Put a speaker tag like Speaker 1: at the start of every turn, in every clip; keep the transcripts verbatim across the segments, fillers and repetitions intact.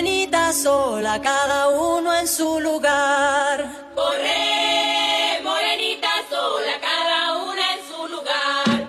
Speaker 1: morenita sola, cada uno en su lugar.
Speaker 2: Corre, morenita sola, cada una en su lugar.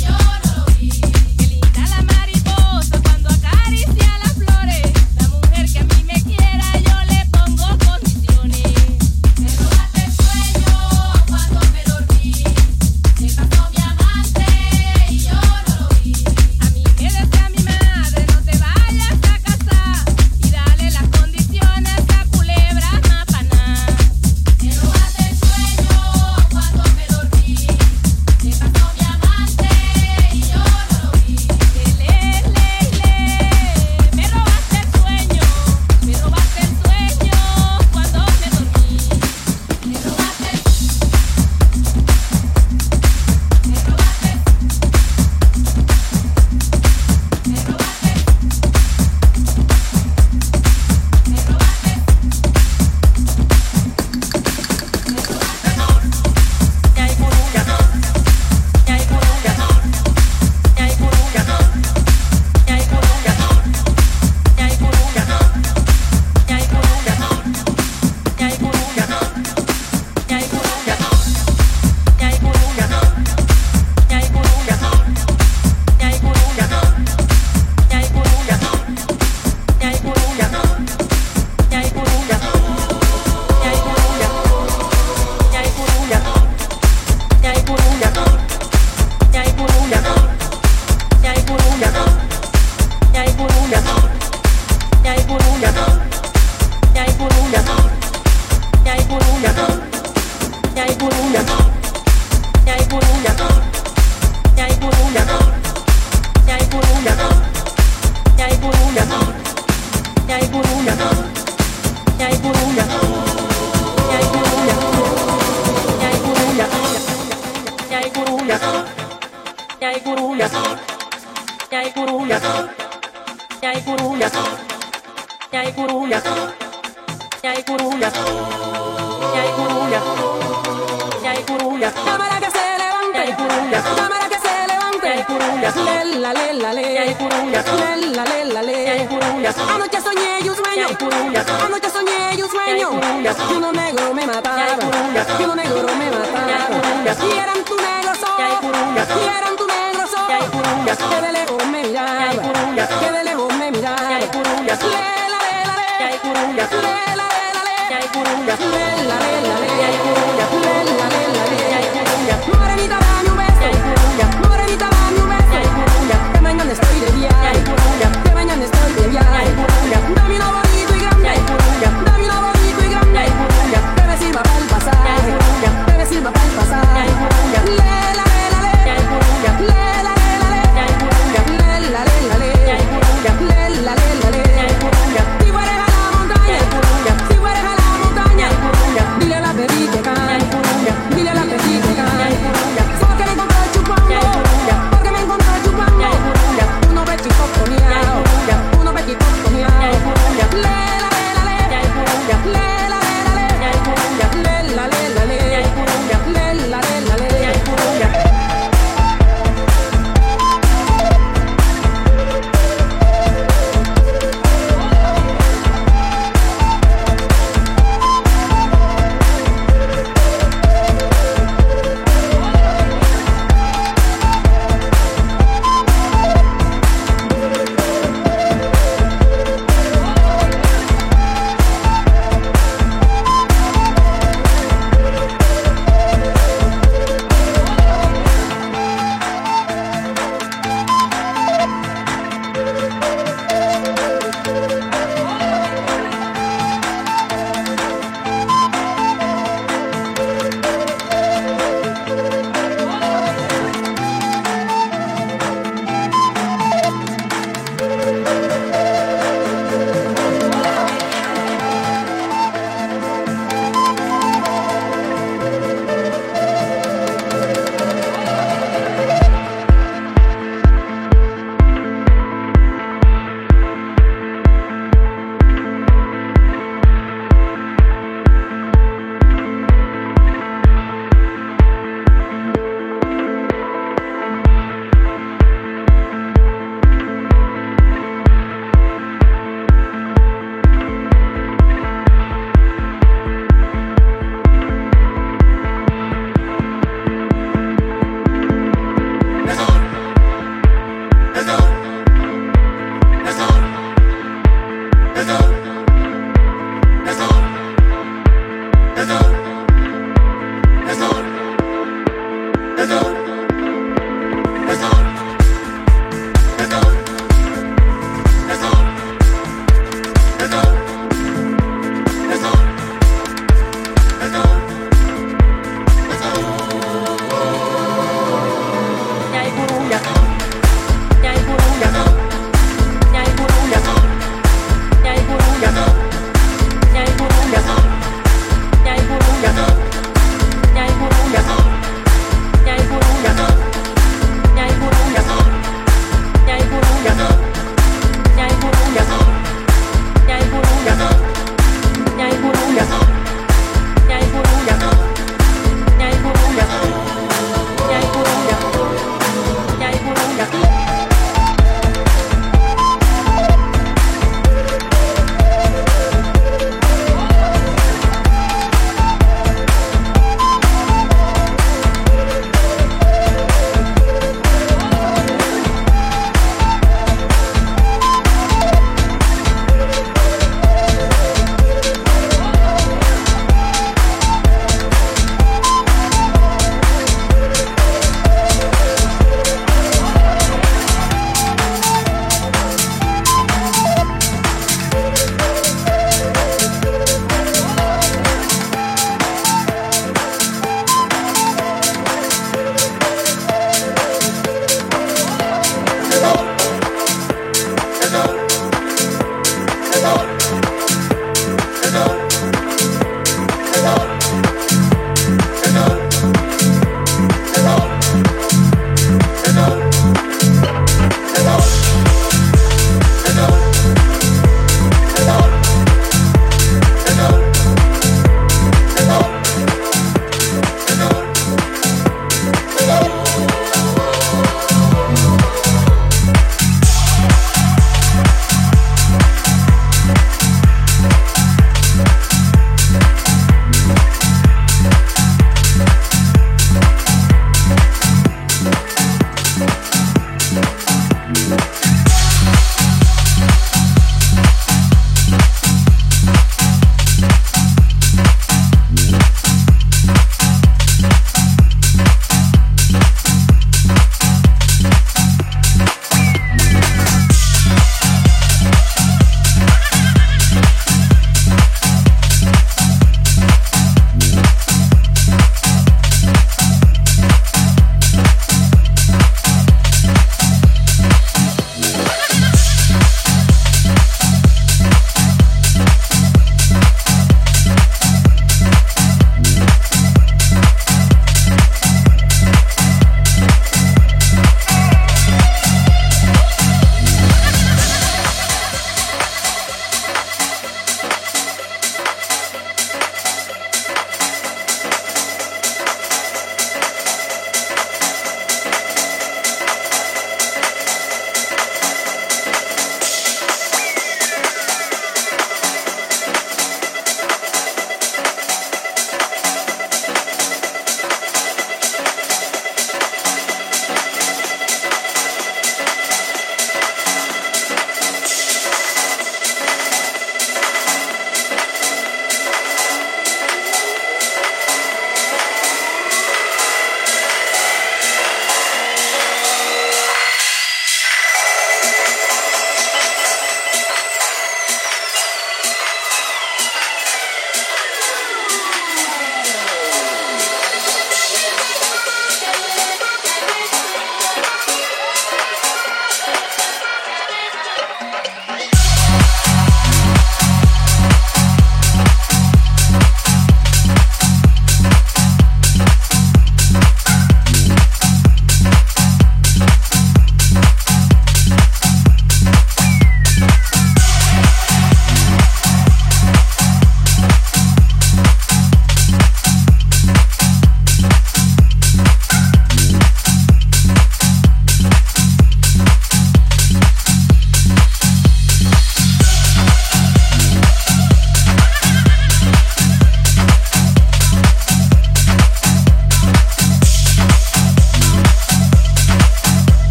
Speaker 3: Mujer Cámara que se levante, cámara que se levante, lela, lela, lela, lela, lela. Anoche soñé y un sueño, anoche soñé y un sueño, que uno negro me mataba, que uno negro me mataba, y eran tu negro sol, y eran tu negro sol, que de lejos me miraba, que de lejos me miraba, lela, lela, lela, lela, lela, lela, lela, morenita dame un beso, morenita dame un beso, que mañana estoy de viaje, que mañana estoy de viaje, dame uno bonito y grande, dame uno bonito y grande, que me sirva para el pasaje, que me sirva para el pasaje, lela, lela, lela, lela, lela, lela, lela, lela, lela, lela, si fueres a la montaña, si fueres a la montaña, dile a la baby que cante, dile a la baby que cante, porque me encontré chupando, porque me encontré chupando, uno pechito comiao, uno pechito comiao, lela, lela, lela, lela, lela, lela, lela, lela, lela, lela, lela.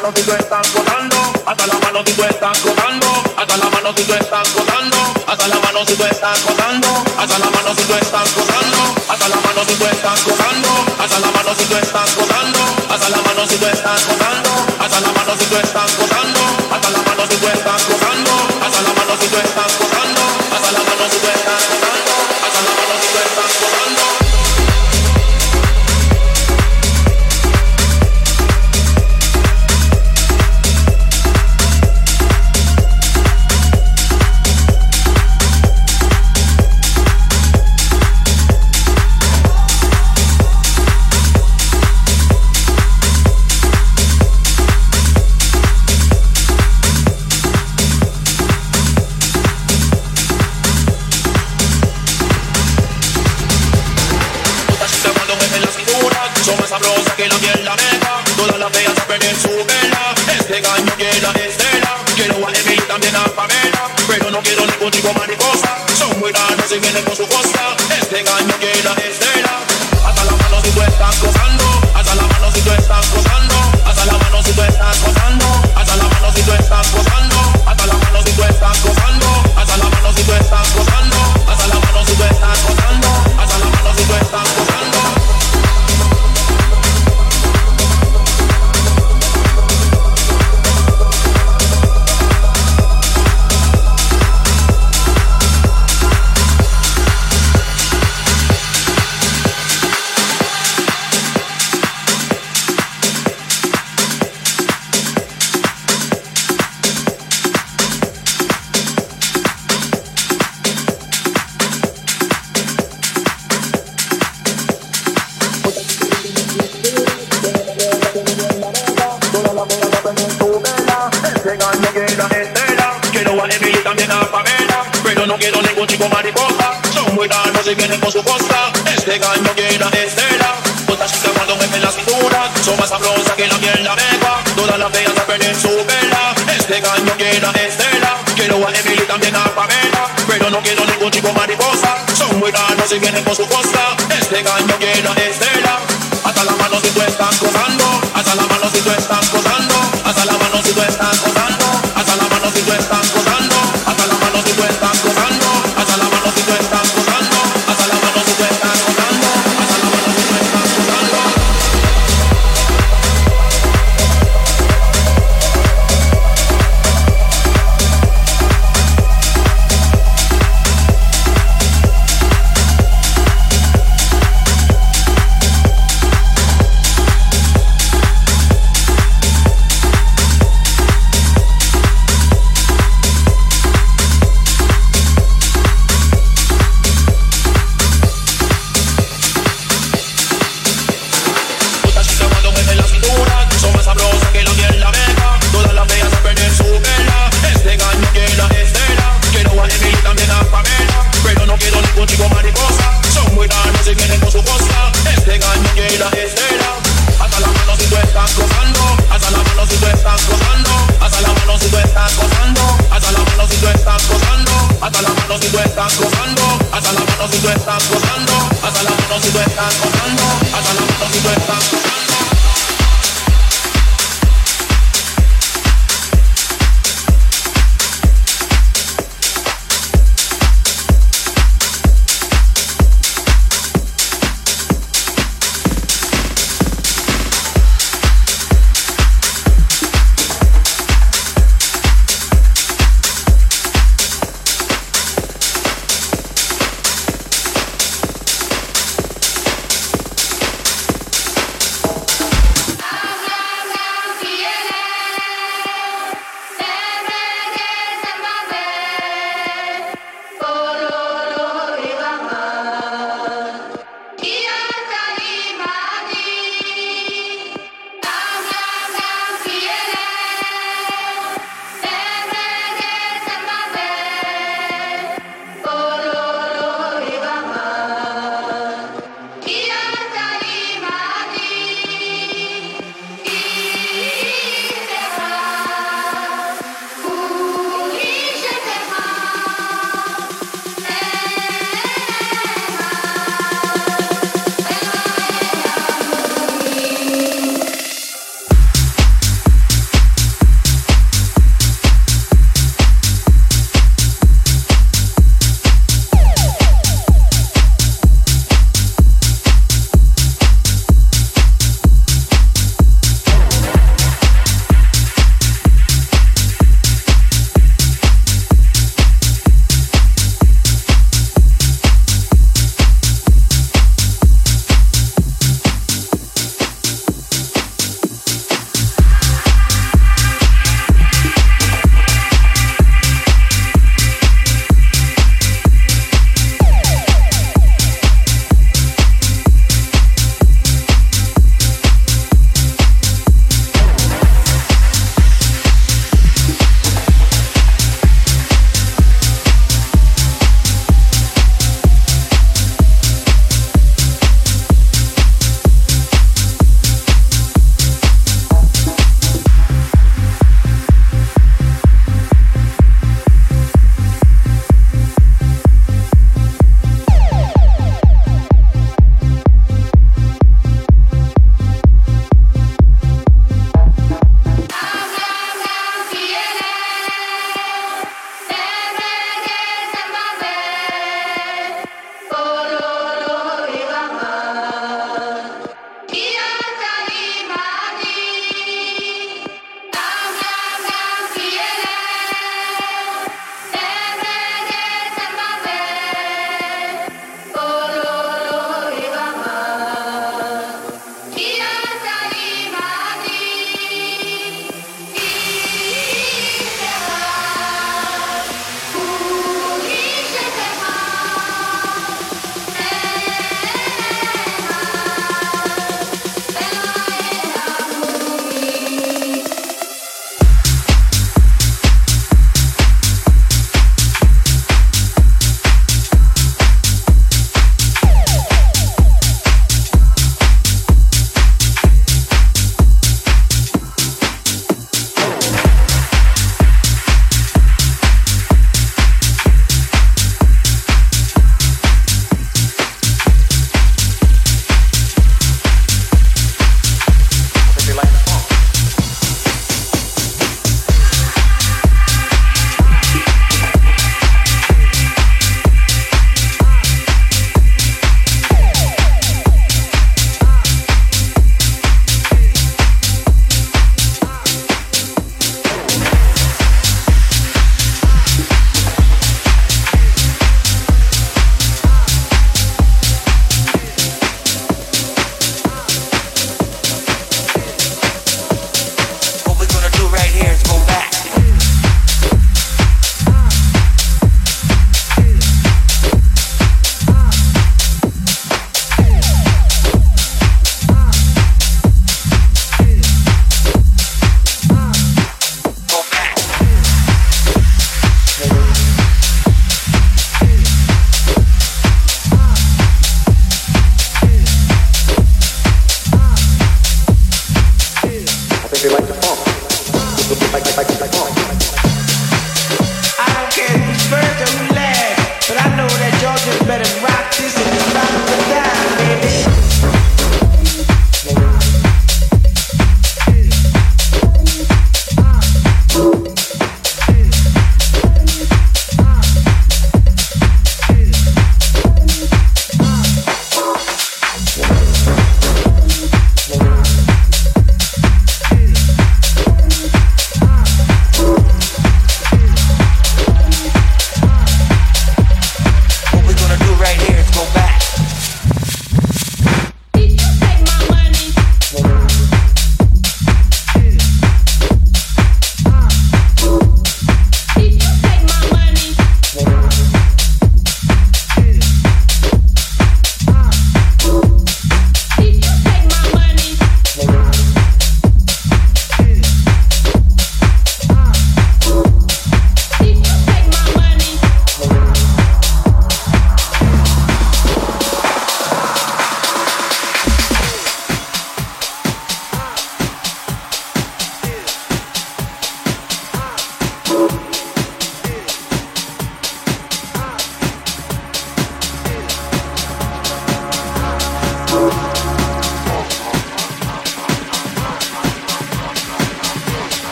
Speaker 4: mano si tú estás gozando, hasta la mano si tú estás gozando, hasta la mano si tú estás gozando, hasta la mano si tú estás gozando, hasta la mano si tú estás gozando, hasta la mano si tú estás gozando, hasta la mano si tú estás gozando, hasta la mano si tú estás gozando, hasta la mano si tú estás gozando, hasta la mano si tú estás gozando, hasta la mano si tú estás gozando, hasta la mano si tú estás gozando, hasta la mano si tú estás gozando. Sabrosa que la miel la meca, todas las feas a perder su vela. Este gallo quiere la Estela, quiero a Emily también a Pamela, pero no quiero ningún chico mariposa, son muy raros y vienen con su costa. Este gallo quiere la Estela, hasta la mano si tú estás gozando, hasta la mano si tú estás gozando, hasta la mano si tú estás gozando, hasta la mano si tú estás gozando, hasta la mano si tú estás gozando, hasta la mano si tú estás gozando, hasta la mano si tú estás gozando, hasta la mano si tú estás gozando. No quiero ningún chico mariposa, son muy raros y vienen con su costa. Este gallo quiere la Estela, otra chica cuando me ven la cintura, son más sabrosas que la miel la meca, todas las feas a perder su vela. Este gallo quiere la Estela, quiero a Emily también a Pamela, pero no quiero ningún chico mariposa, son muy raros y vienen con su costa. Este gallo quiere la Estela, hasta la mano si tú estás gozando, hasta la mano si tú estás gozando, hasta la mano si tú estás gozando, hasta la mano si tú estás gozando, hasta la mano si tú estás gozando, hasta la mano si tú estás gozando, hasta la mano si tú estás gozando, hasta la mano si tú estás gozando.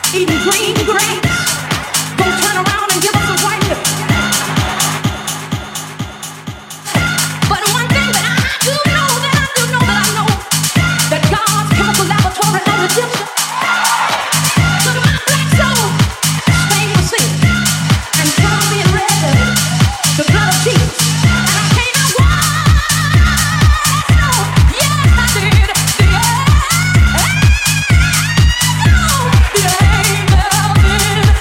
Speaker 3: eating green grapes. Don't turn around and give us a white lip. But one thing that I do know, that I do know, that I know, that God's chemical laboratory on the dipster. So my black soul, stay with sin and come being red, the blood of Jesus. And I came out wild. Yes, I did. Yeah. The angel in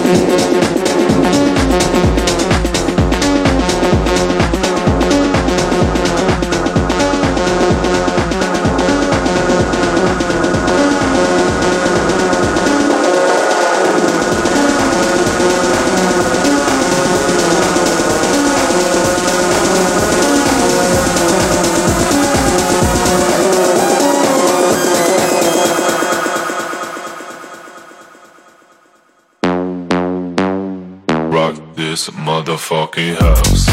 Speaker 5: this motherfucking house.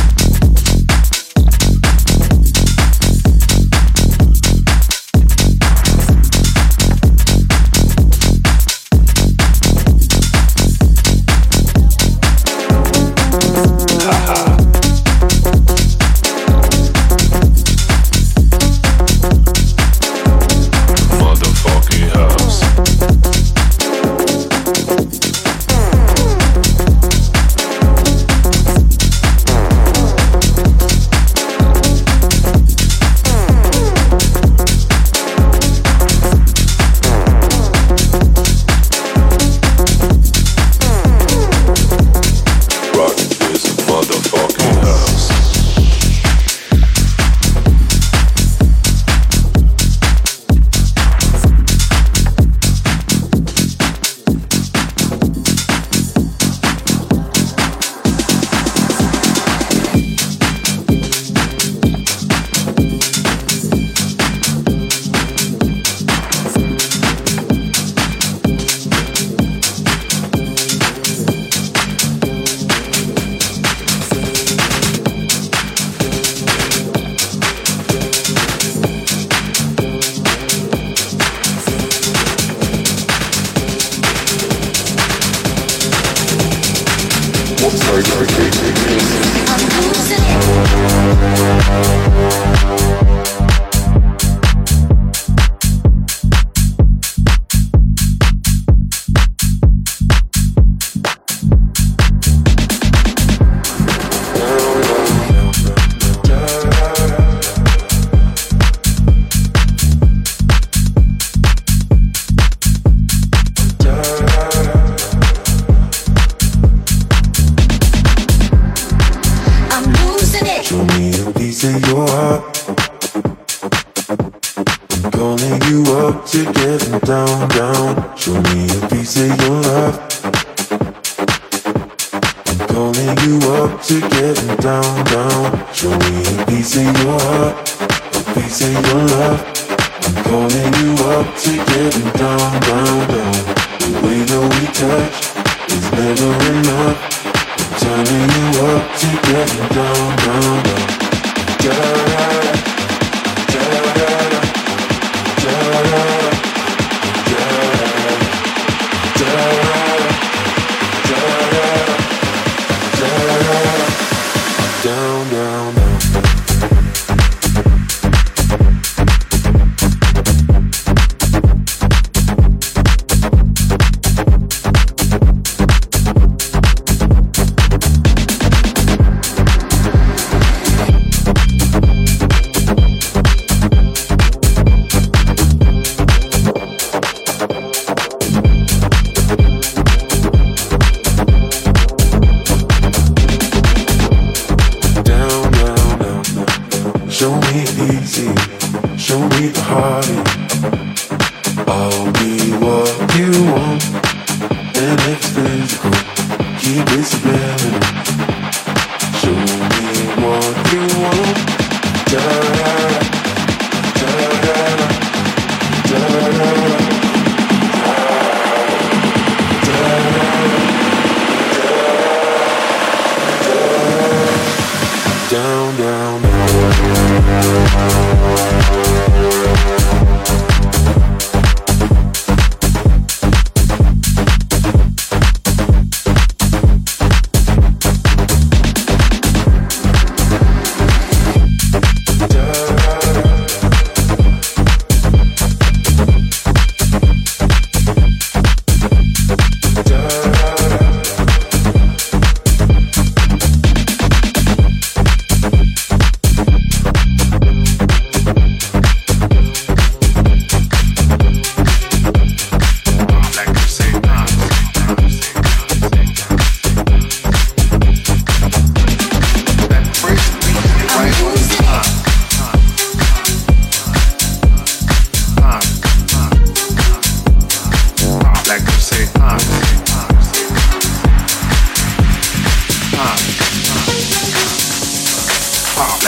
Speaker 6: Da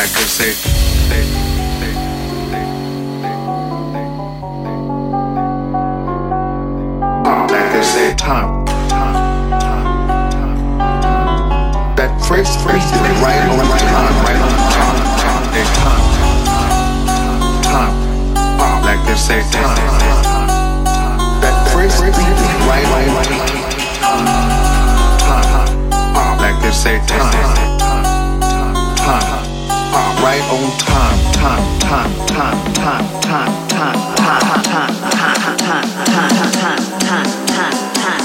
Speaker 6: like they say. Like they say, time, time, time, time. That first phrase is right on time, right on time, time, time, time. Like they say, time. That first phrase is right on time, time. Like they say, time, time. Right on time, time, time, time, time, time, time, time, time, time, time, time, time, time.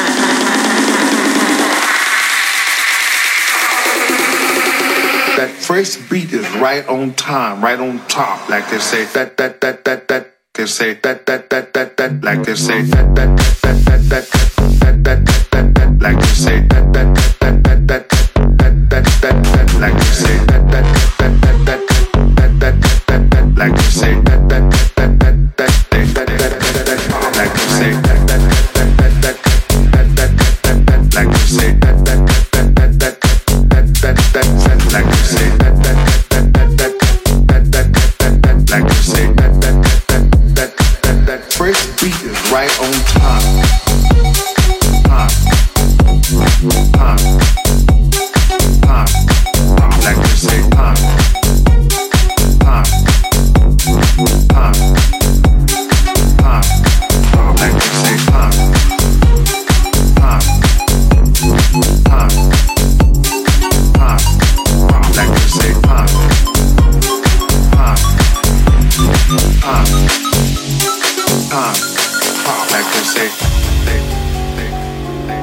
Speaker 6: That first beat is right on time, right on top, like they say. That that that that that they say. That that that that that like they say. That that that that that that that that that like they say. That that that that that that that that that like they say. That that that that that that that that that like they say. That that that that that that that that like they say. That that that that that that that that like they say. That that that that that that that like they say. That that that that that that that like they say. That that that that that that first beat is right on time. Time. Time. Time. Like they say, time. Time. Time. Time. Like they say, time. Time. Time. Time. Like they say, time. Time. Time. Time. Like they say, they, they, they,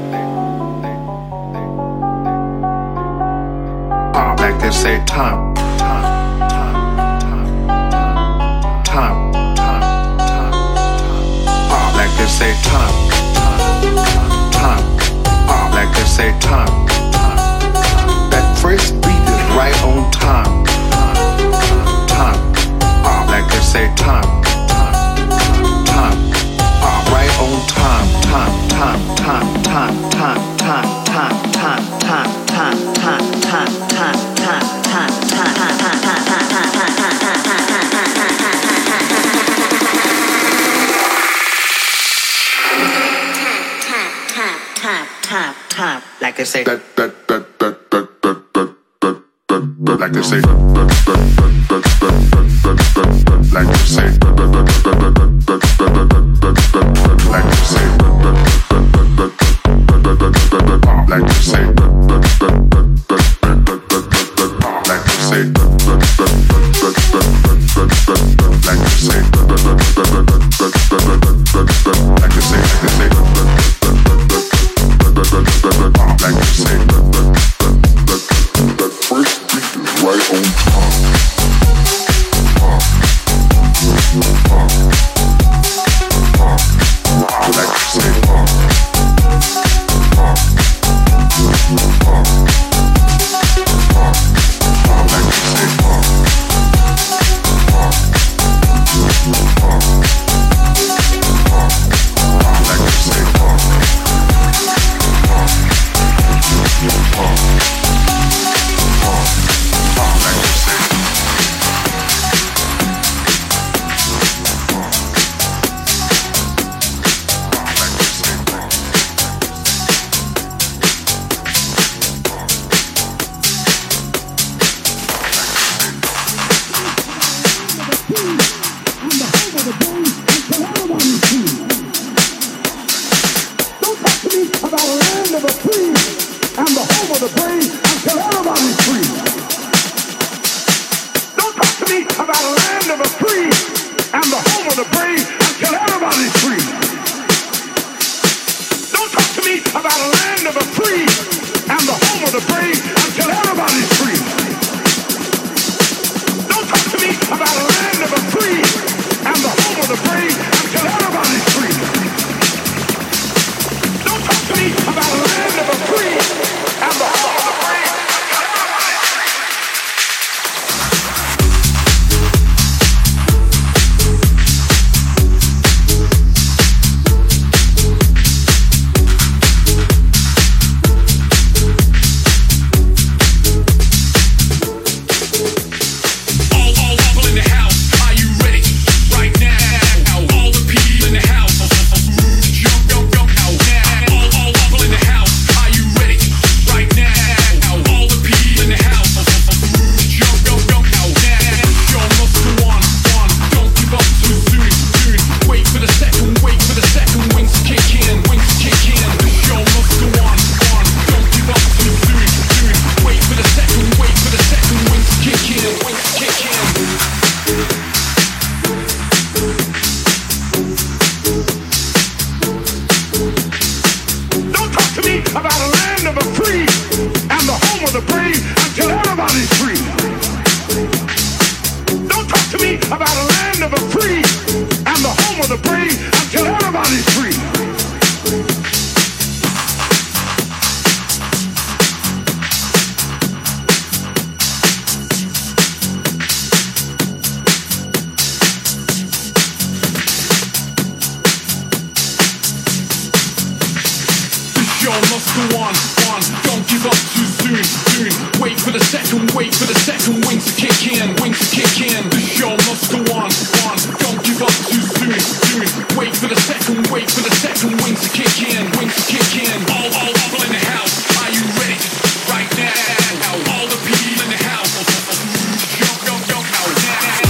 Speaker 6: they, like they say, time, time, time, time, time, time, time, like they say, time, time, time, like they say, time. That first beat is right on time, time, like they say, time, time. Right on time, time, time, time, time, time, time, time, time, time, time, time, time, time, time, time, time, like they say. That that that that that that that that that like they say. That that that that that that that like they say. That that that that that that like they say. Like you say, like you say, like you say, like you say, that first beat is right on time. Like you say,
Speaker 7: about a land of the free and the home of the brave until everybody's free. Don't talk to me about a land of the free and the home of the brave until everybody's free.
Speaker 8: Must go on, on, don't give up too soon, soon. Wait for the second, wait for the second wings to kick in, wings to kick in. The show must go on, on, don't give up too soon, soon. Wait for the second, wait for the second wings to kick in, wings to kick in. All, all, all in the house, are you ready? Right now, all the people in the house, jump, jump, jump out now.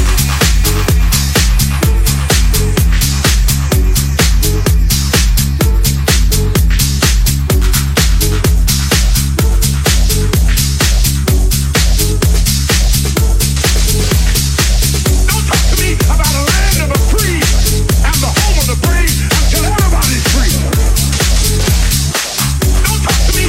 Speaker 7: Don't talk to me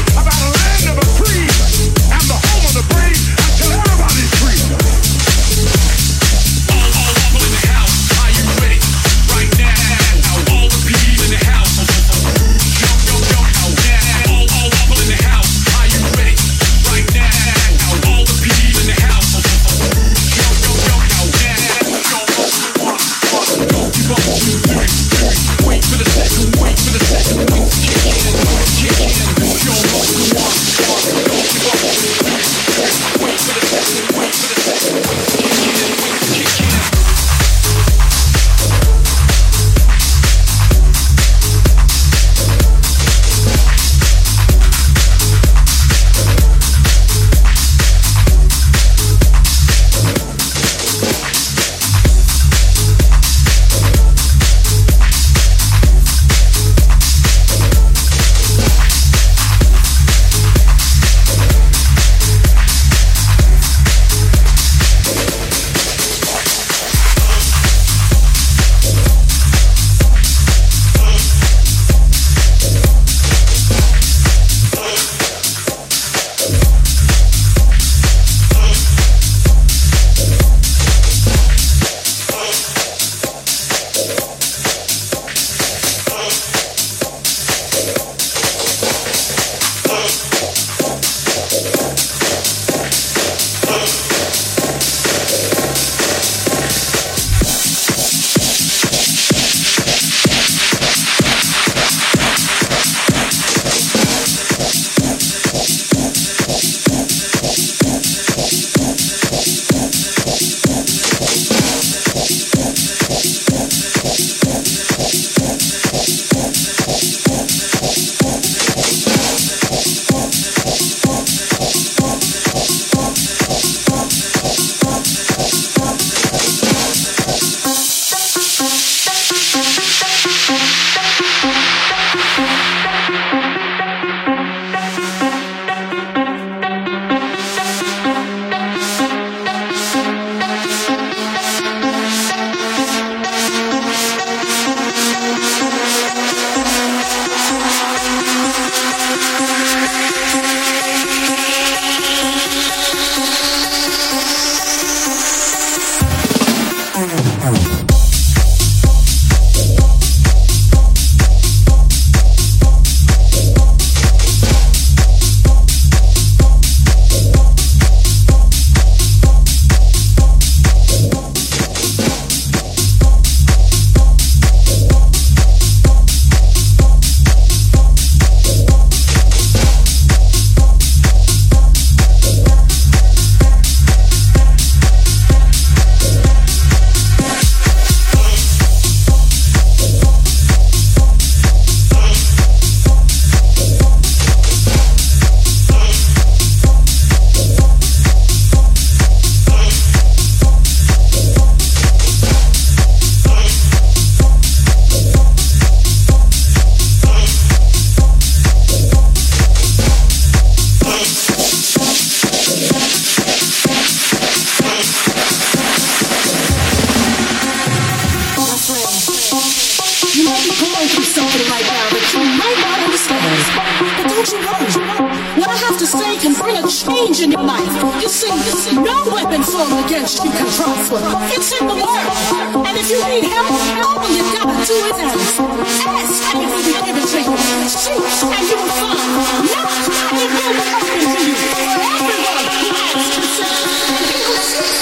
Speaker 9: you want. What I have to say can bring a change in your life. You see, you see, no weapon formed against you can prosper. It's in the word. And if you need help, all you gotta do is ask. Ask and it will be given to you. Seek and you will find. Knock and it will be open to you. For everyone who asks himself, and he will seek.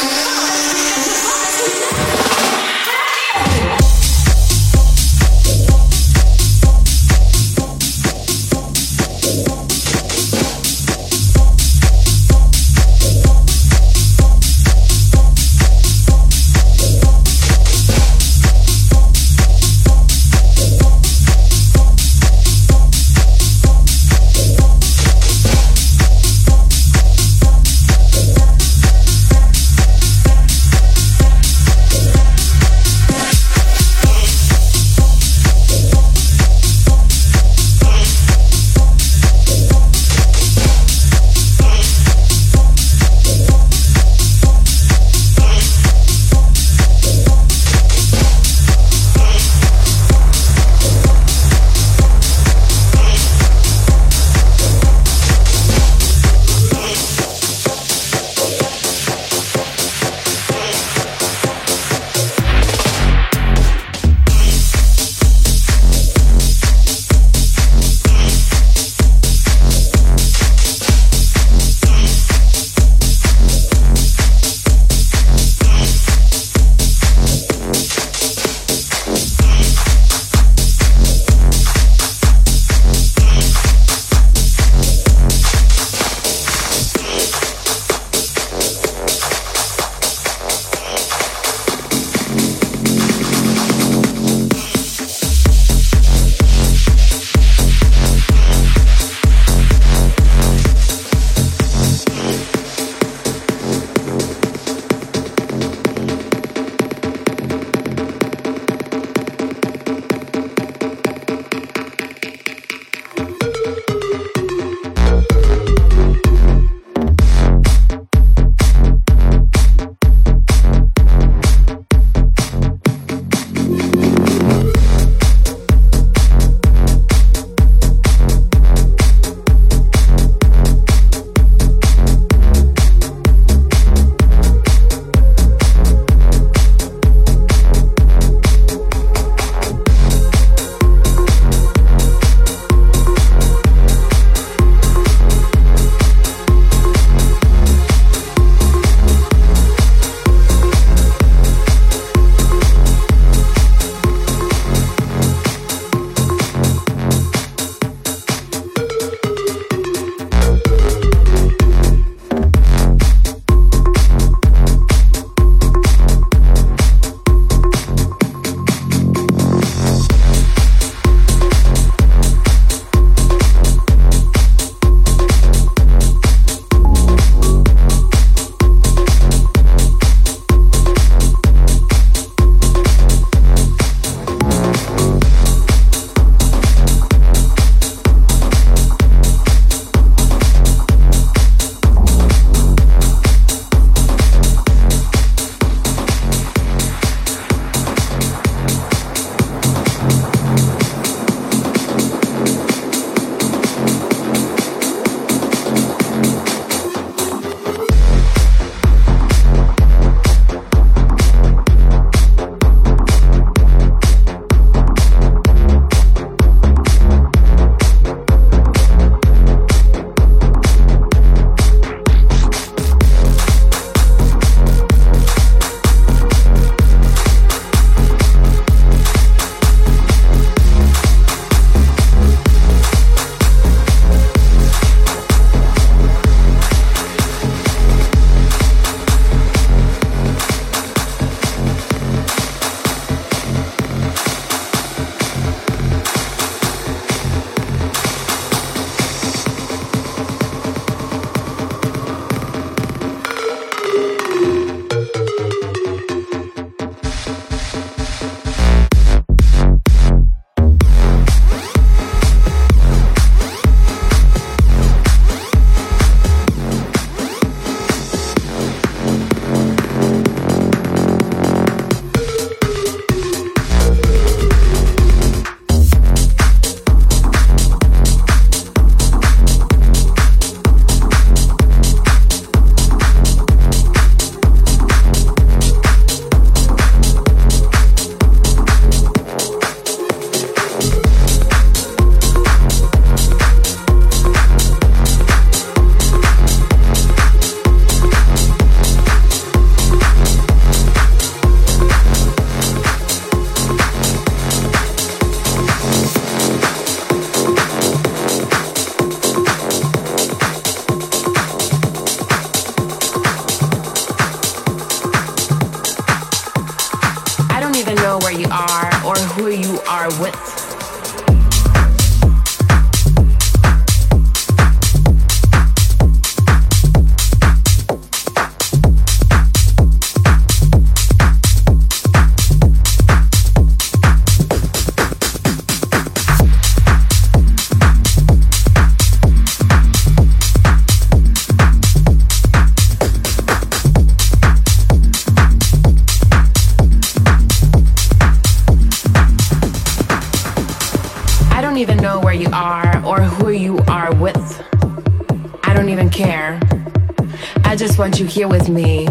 Speaker 3: I don't even care. I just want you here with me.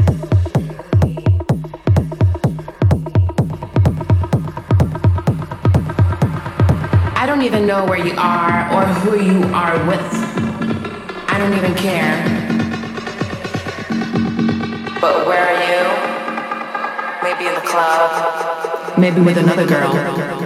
Speaker 3: I don't even know where you are or who you are with. I don't even care. But where are you? Maybe in the club. Maybe with another girl.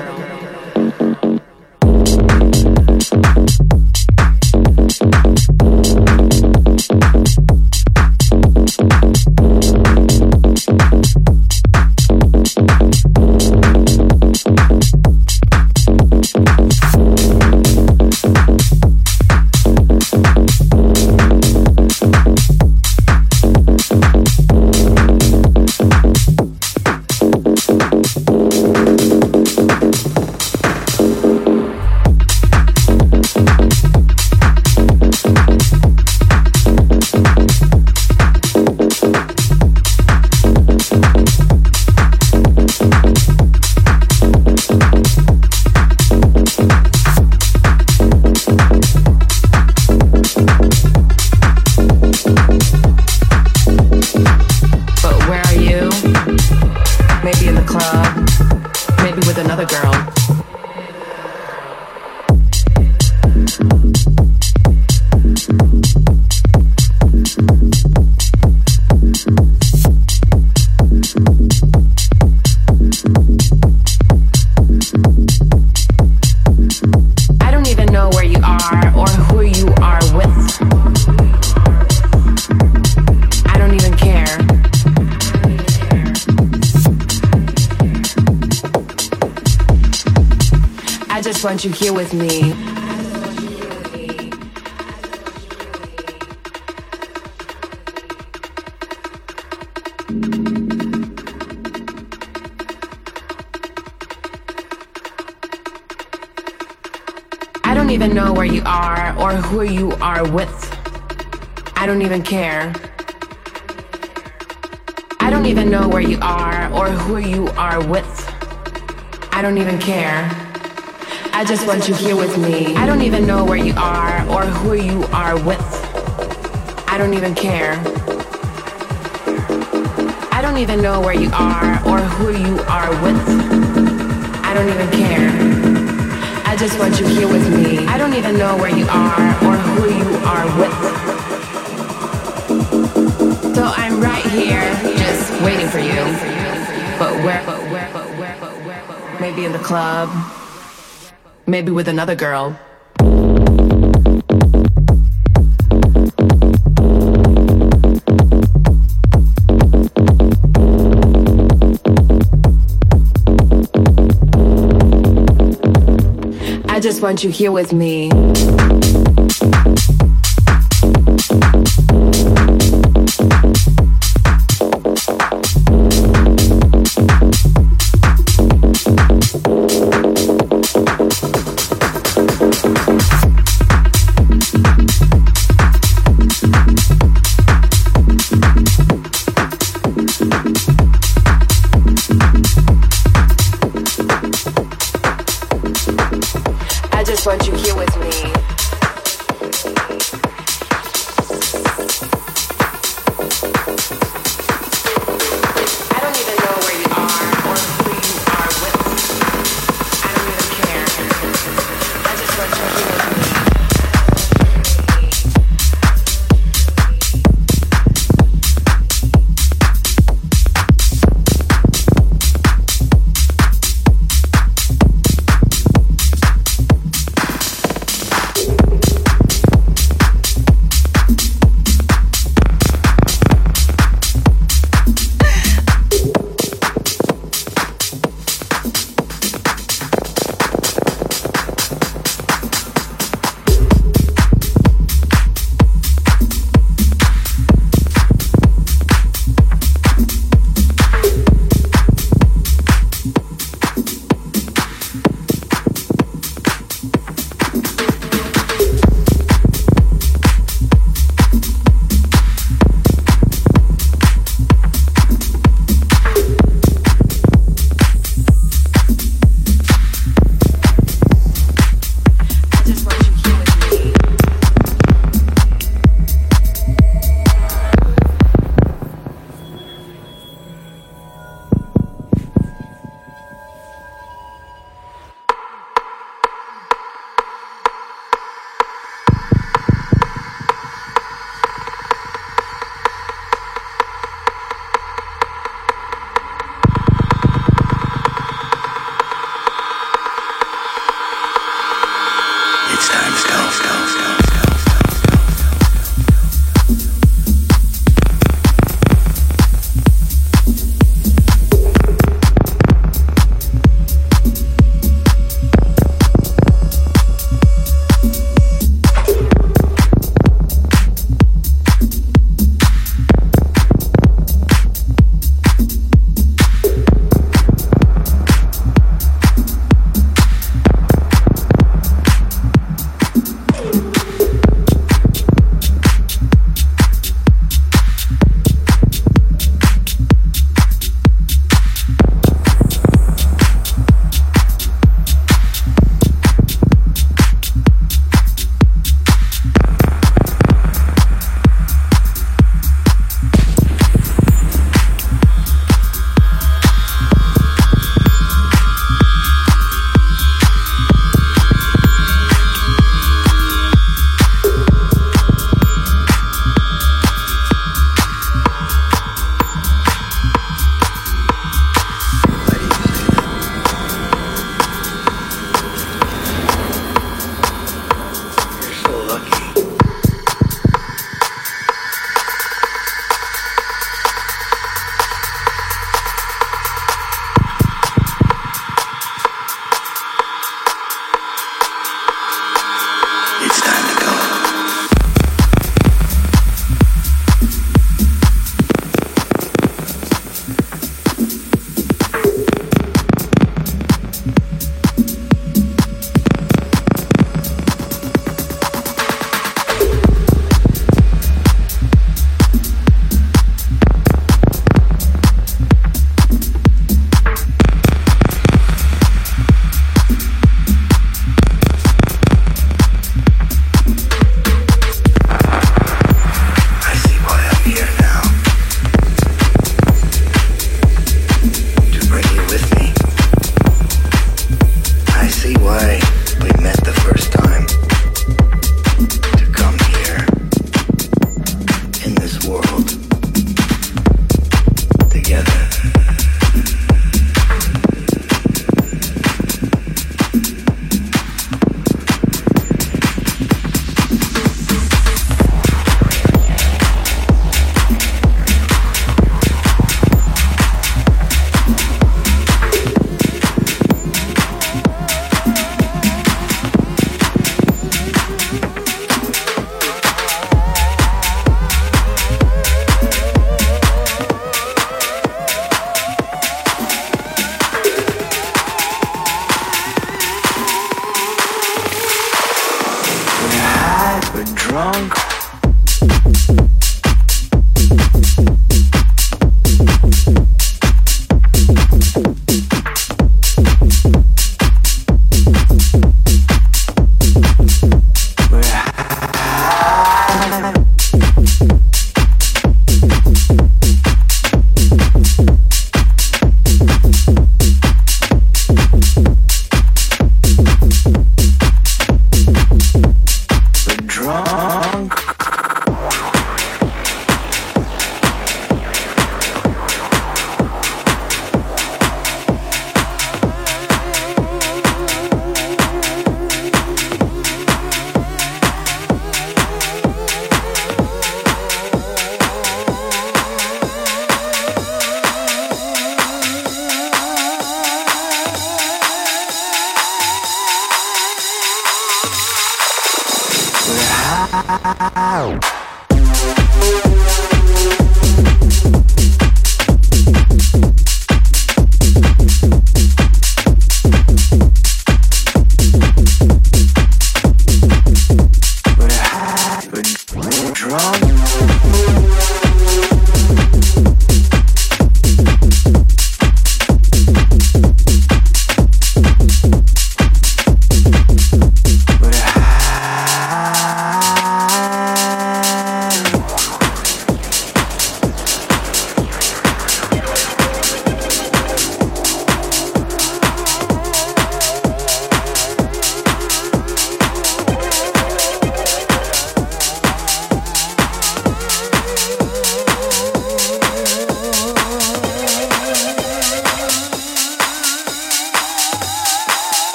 Speaker 3: Want you here with me. I don't even know where you are or who you are with. I don't even care. I don't even know where you are or who you are with. I don't even care. I just want you here with me. I don't even know where you are or who you are with. I don't even care. I don't even know where you are or who you are with. I don't even care. I just want you here with me. I don't even know where you are or who you are with. So I'm right here, just waiting for you. But where, but where, but where, but where, but where? Maybe in the club. Maybe with another girl. I just want you here with me. I just want you here with me.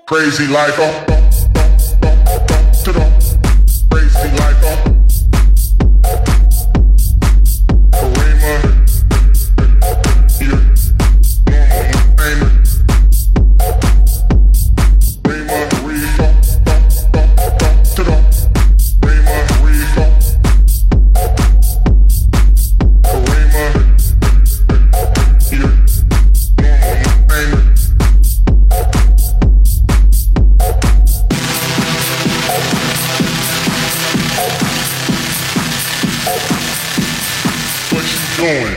Speaker 7: Crazy like a to the crazy like a Karima. You know I'm Rima Reefa to the Rima Reefa Karima. You know I'm doing.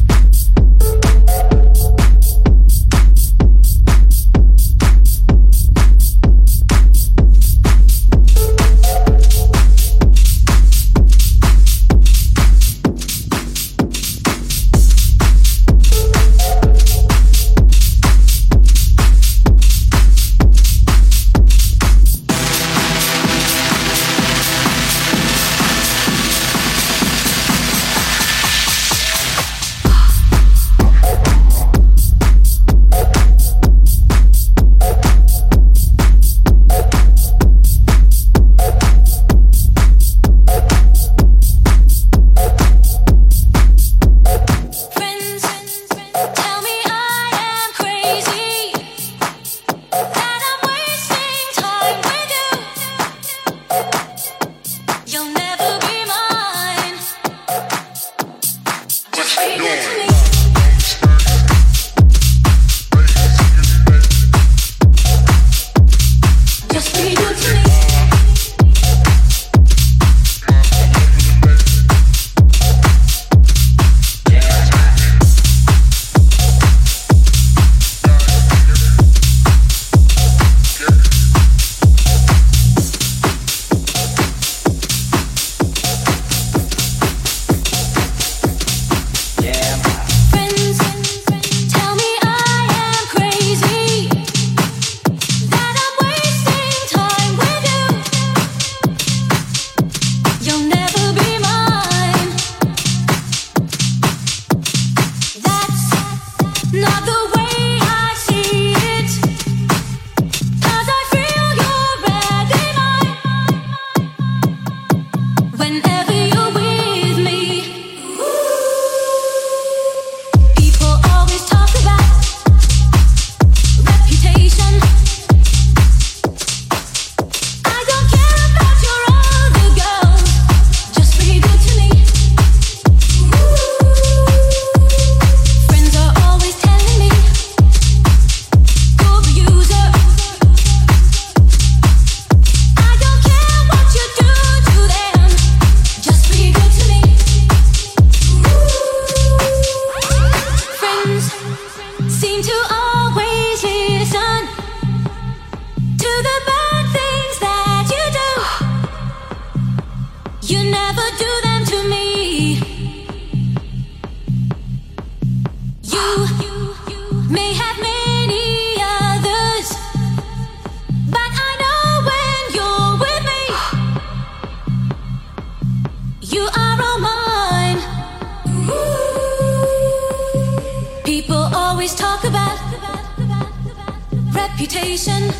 Speaker 10: reputation.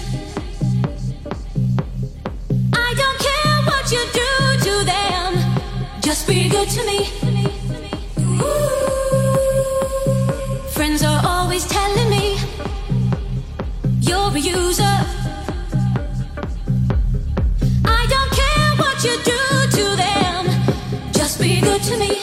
Speaker 10: I don't care what you do to them, just be good to me. Ooh. Friends are always telling me you're a user. I don't care what you do to them, just be good to me.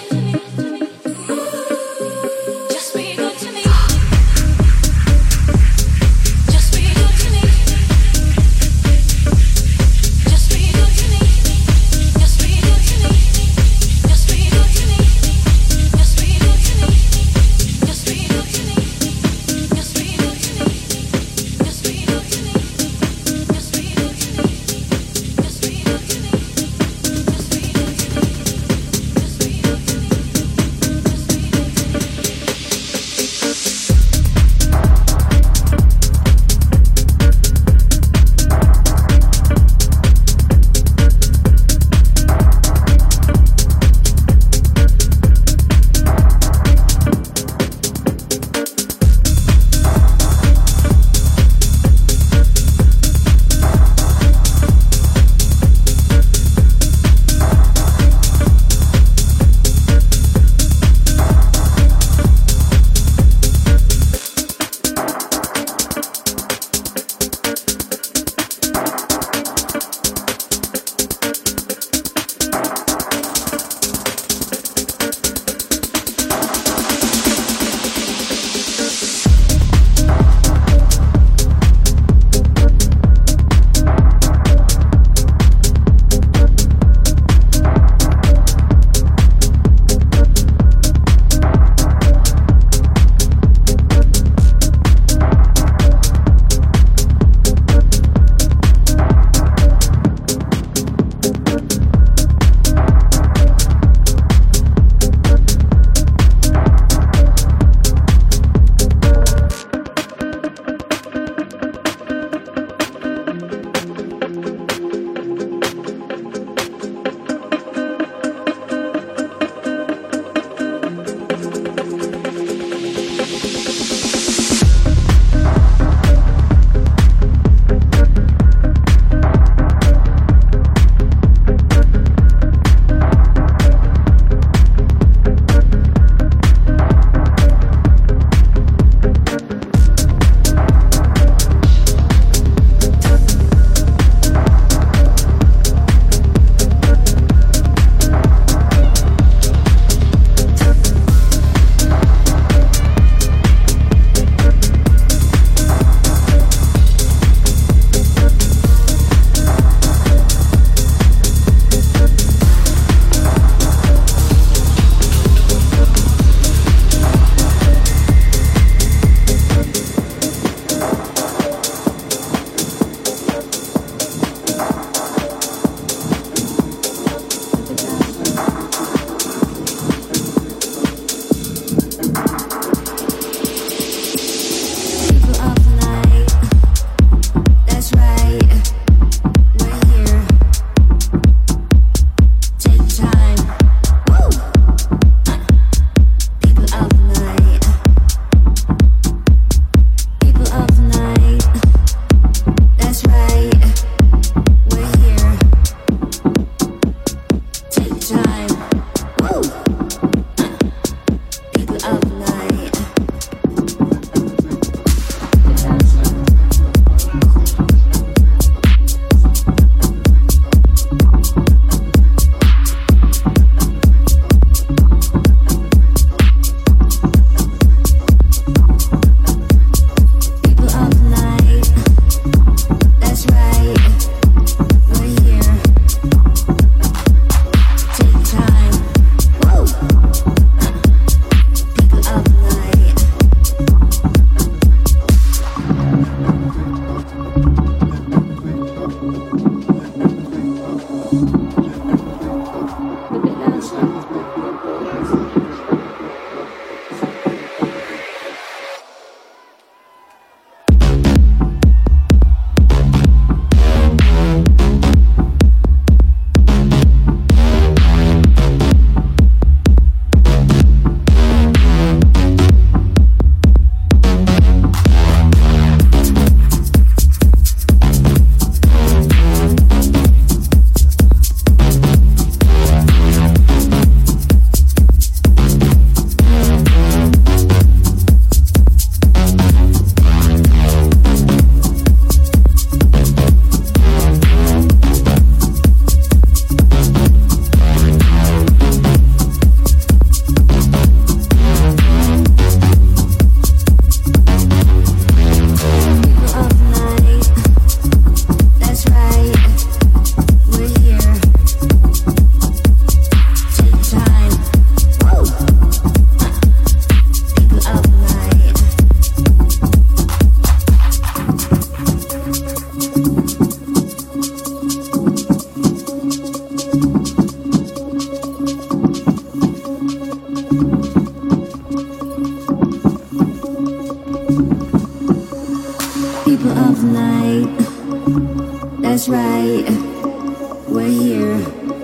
Speaker 10: People of the night, that's right, we're here.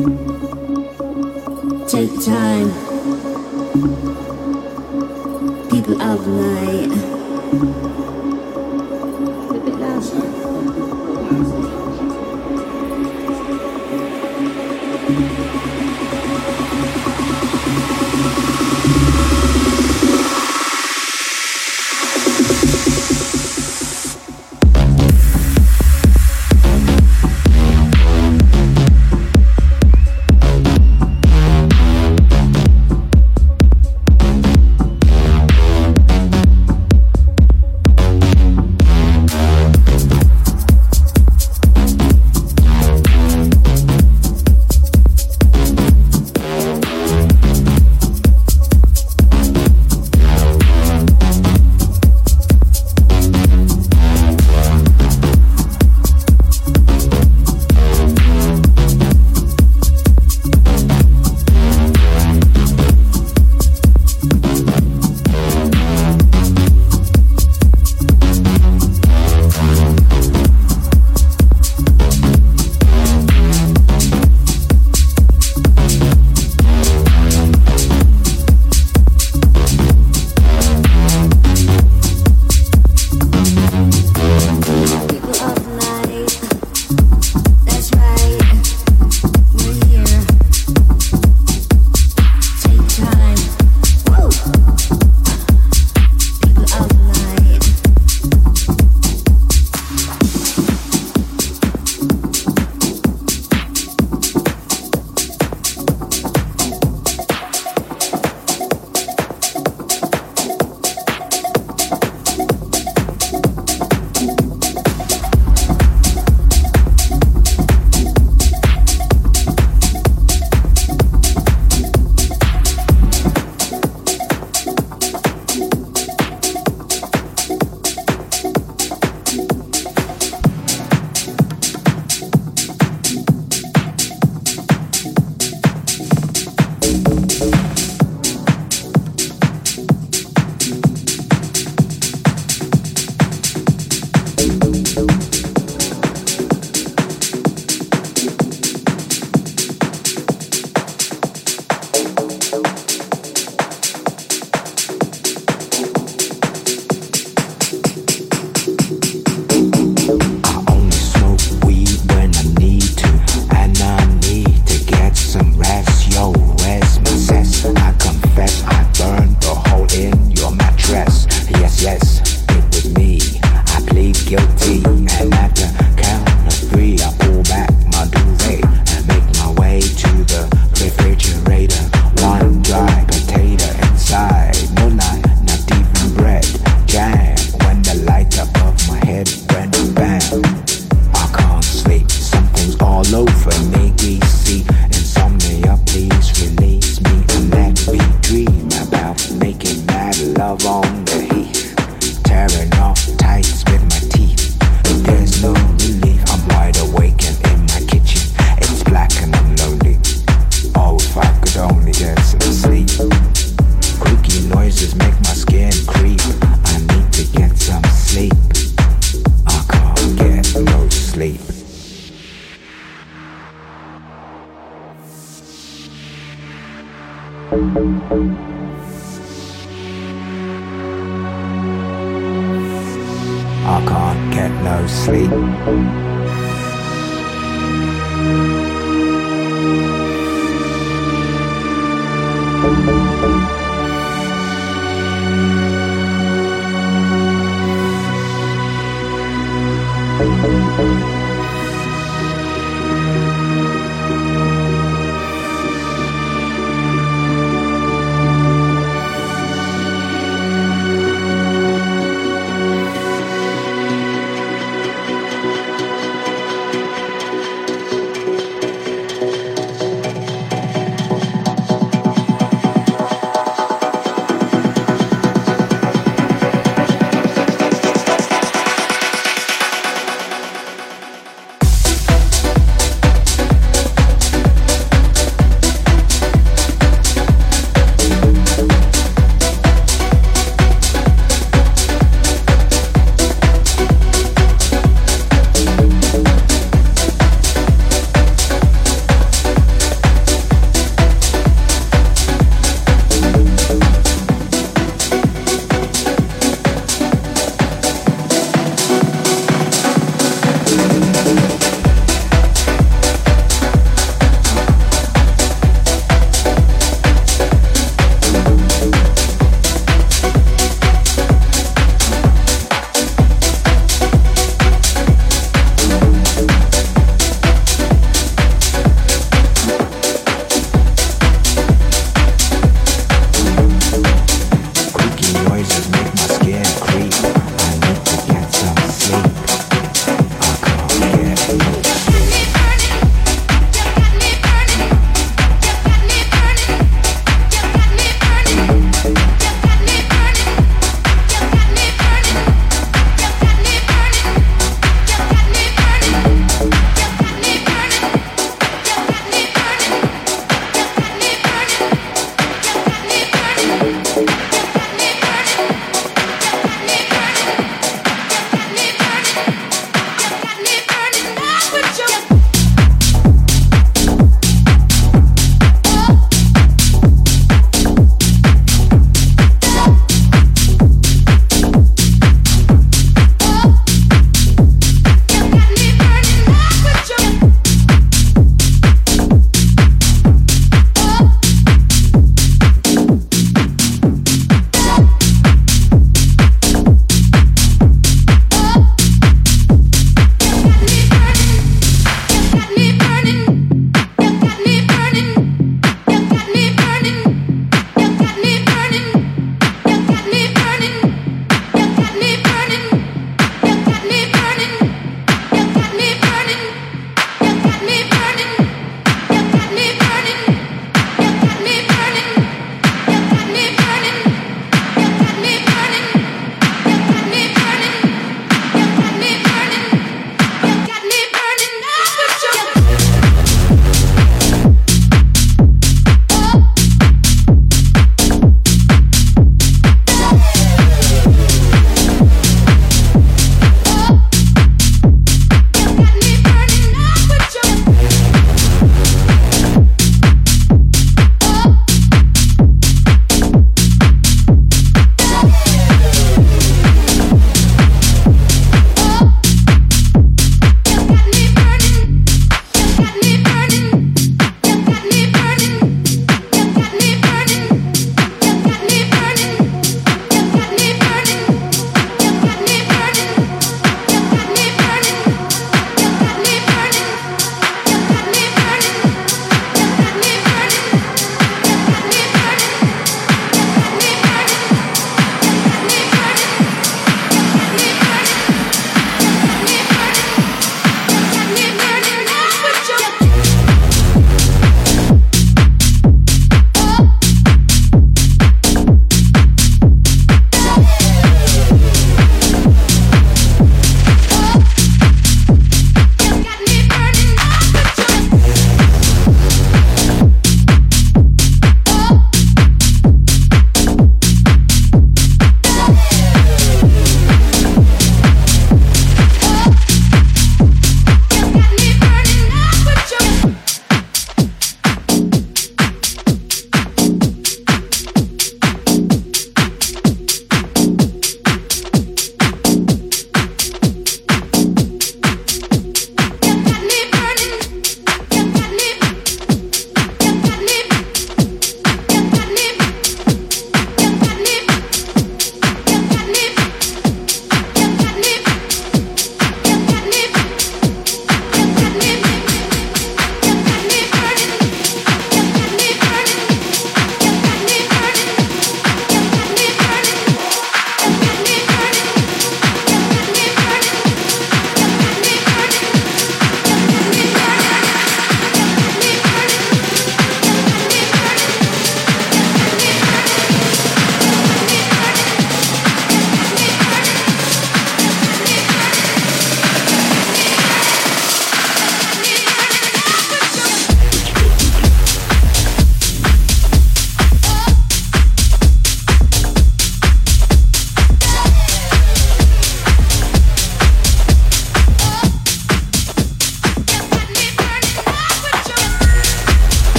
Speaker 10: Take time. People of the night. A bit louder.
Speaker 11: I can't get no sleep.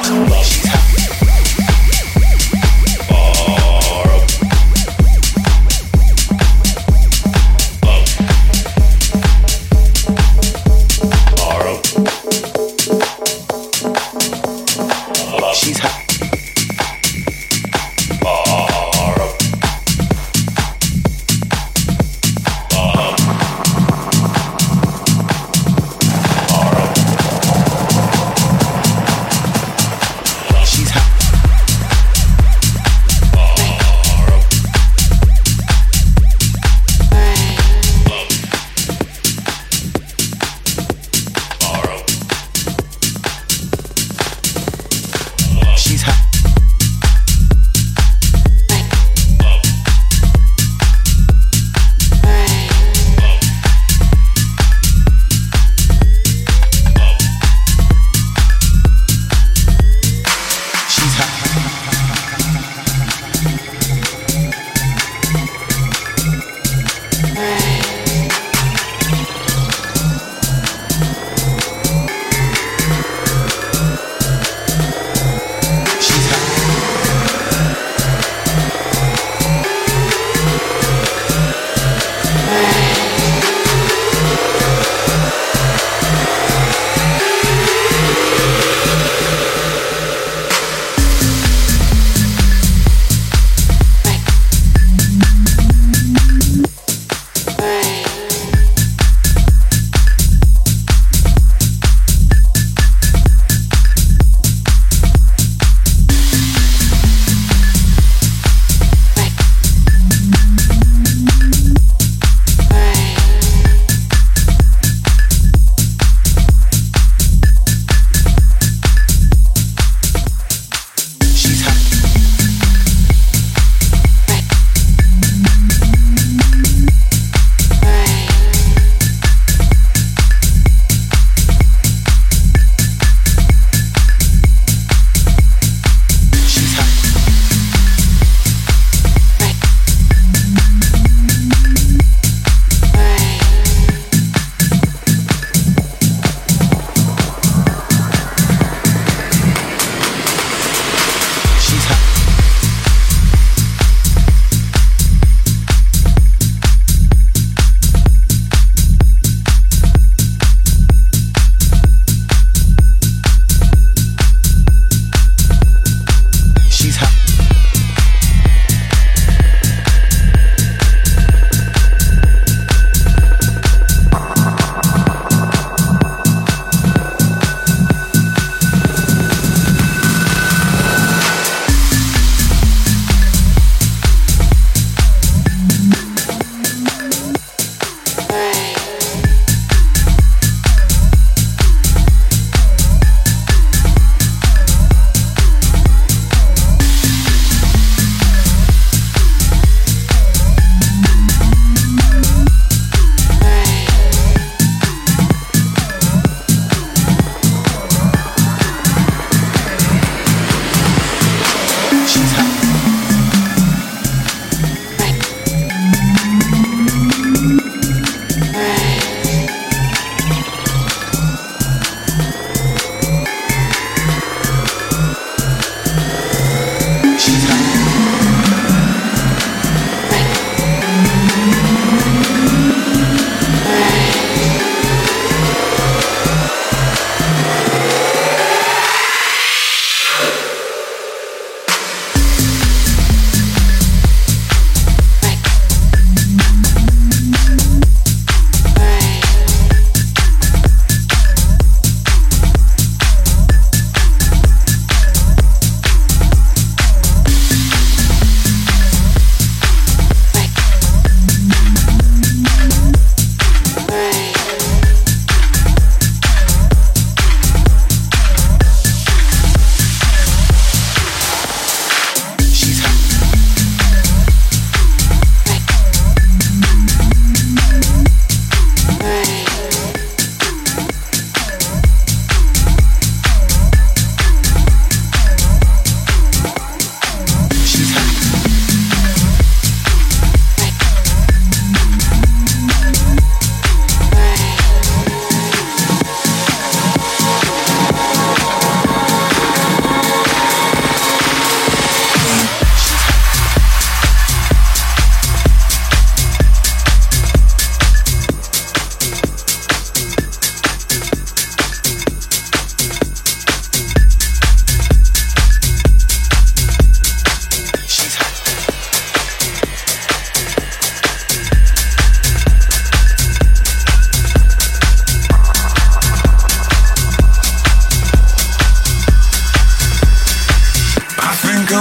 Speaker 12: She's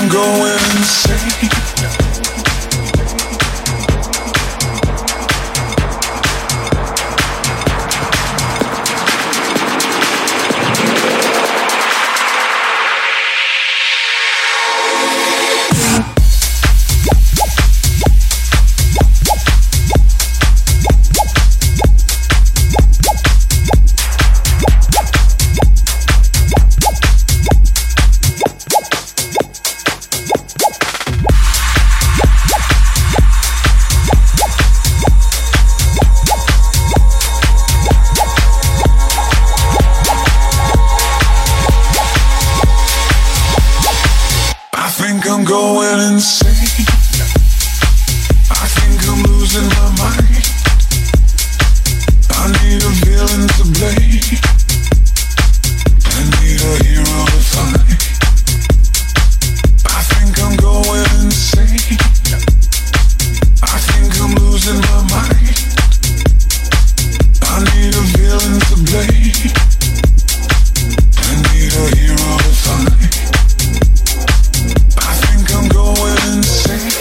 Speaker 12: I'm going insane. Going insane. I think I'm losing my mind. I need a villain to blame. I need a hero to find. I think I'm going insane. I think I'm losing my mind. I need a villain to blame. I need a hero to find. I'm going insane.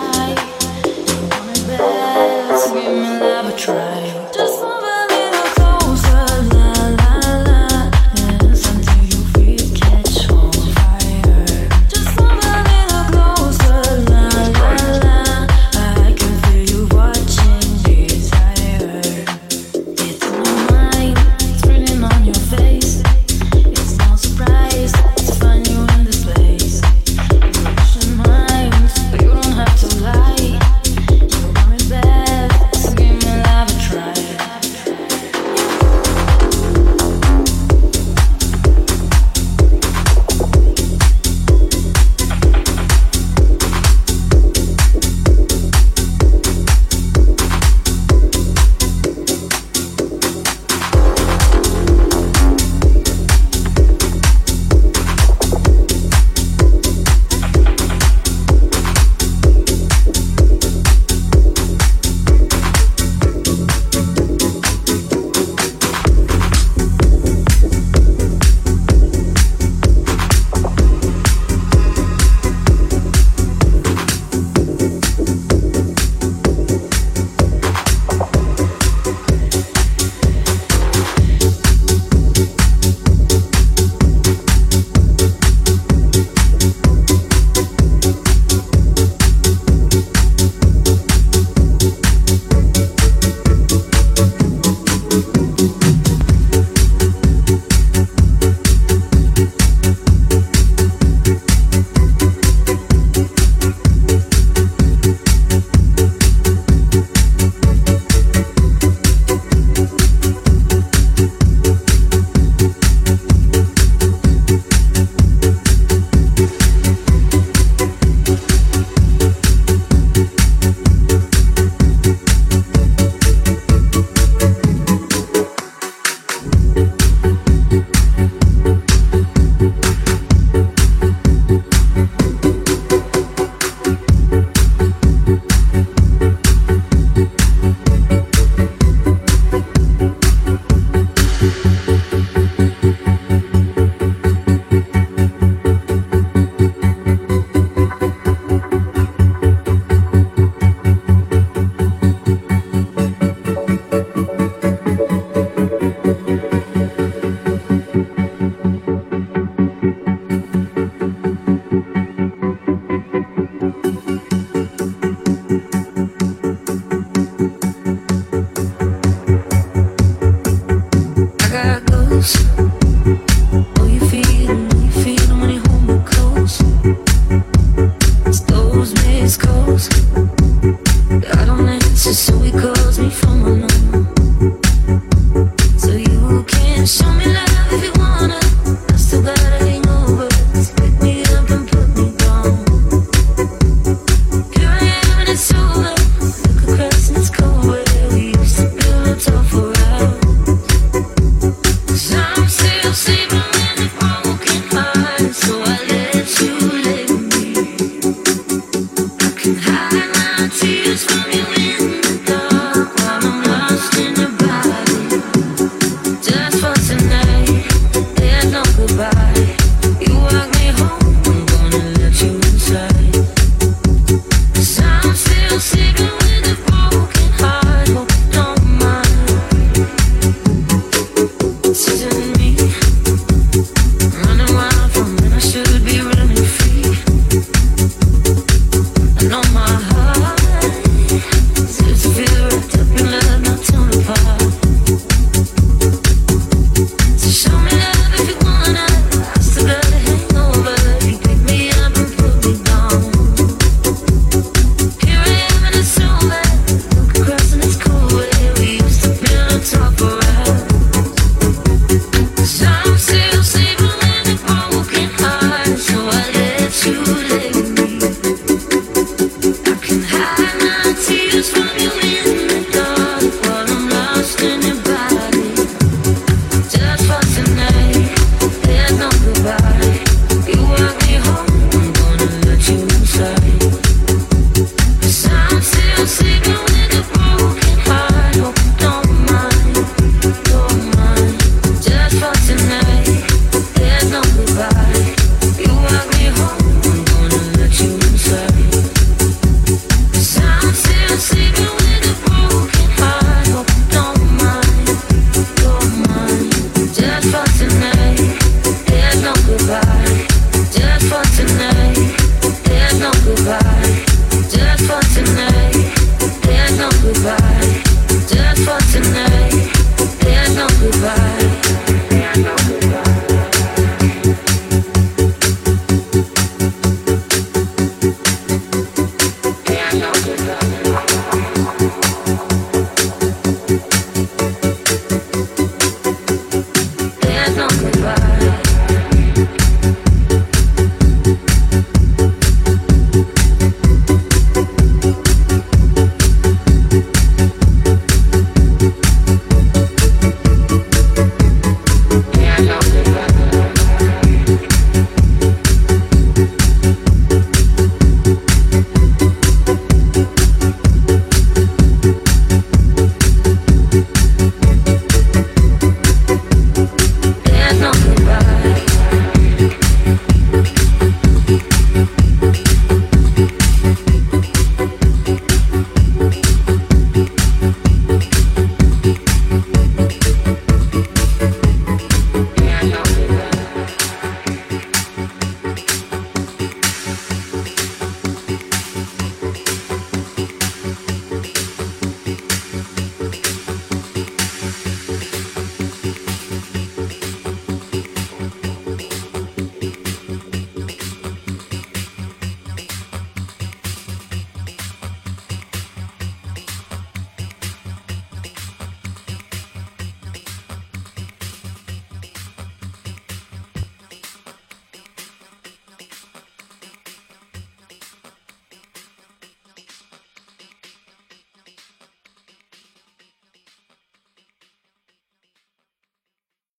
Speaker 10: Hide my tears from you.